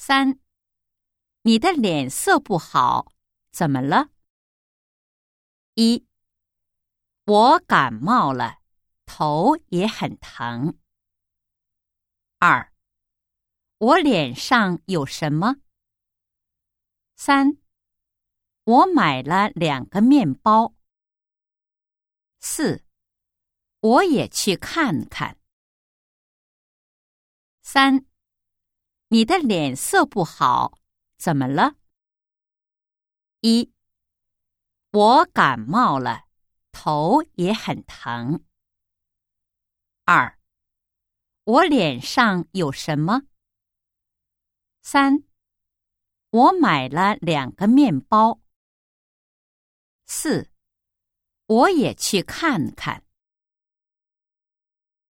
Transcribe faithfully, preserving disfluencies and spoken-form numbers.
三，你的脸色不好，怎么了？一，我感冒了，头也很疼。二，我脸上有什么？三，我买了两个面包。四，我也去看看。三，你的脸色不好，怎么了？一，我感冒了，头也很疼。二，我脸上有什么？三，我买了两个面包。四，我也去看看。